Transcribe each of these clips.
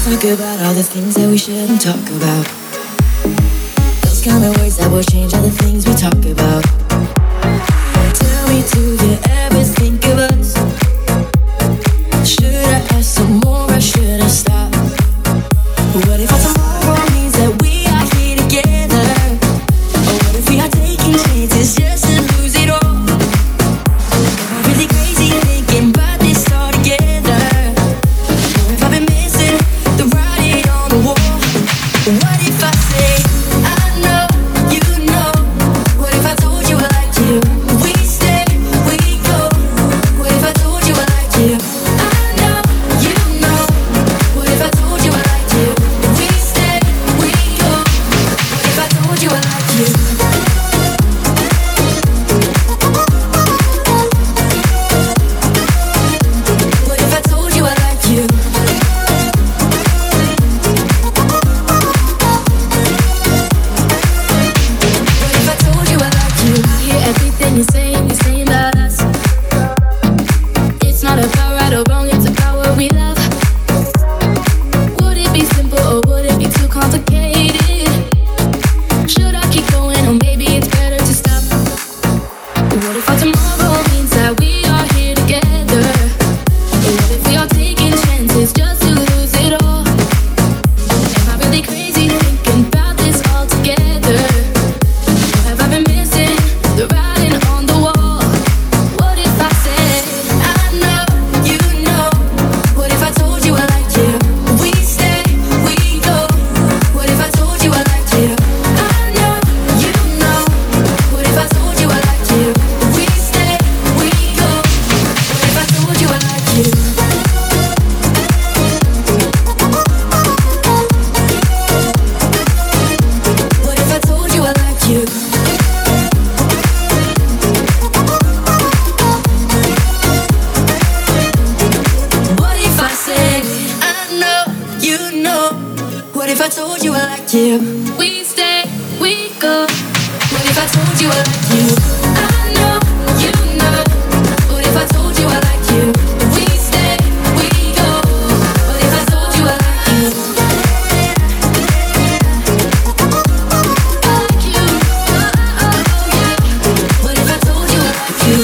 talk about all the things that we shouldn't talk about. Those kind of words that will change all the things we talk about. Tell me, do you ever think of us? Should I ask some more or should I stop? What if our tomorrow means that we are here together? Or what if we are taking chances just to lose it all? Am I really crazy thinking about this all together? Or if I've been missing the writing on the wall? What if I say, I know, you know? What if I told you I like you? We stay, we go. What if I told you I like you? I know, you know. What if I told you I like you? We stay, we go. What if I told you I like you? What if I told you I like you? What if I told you I like you? I hear everything you're saying about us. It's not about right or wrong, it's about what we love. Would it be simple or would it be too complicated? Should I keep going or maybe it's better to stop? What if our tomorrow means that we are here together? Or what if we are taking chances just to lose it all? Am I really crazy thinking about this all together? Or have I been missing the writing on the wall? What if I said, I know, you know? What if I told you I like you? We stay, we go. What if I told you I like you? I know, you know. What if I told you I like you? We stay, we go. What if I told you I like you? What if I told you I like you? What if I said, I know, you know? What if I told you I like you? We stay, we go. What if I told you I like you? I know, you know. What if I told you I like you? We stay, we go. What if I told you I like you? I like you. Oh, yeah. What if I told you I like you?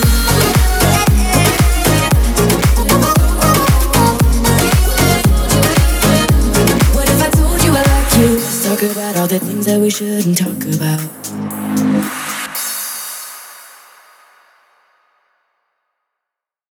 What if I told you I like you? Let's talk about all the things that we shouldn't talk about.